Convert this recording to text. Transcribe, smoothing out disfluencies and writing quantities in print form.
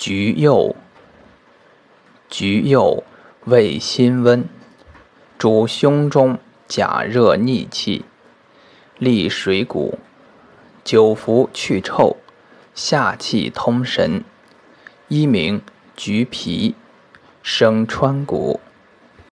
橘柚，橘柚味辛温，主胸中甲热逆气，利水谷，久服去臭，下气通神。一名橘皮，生川谷。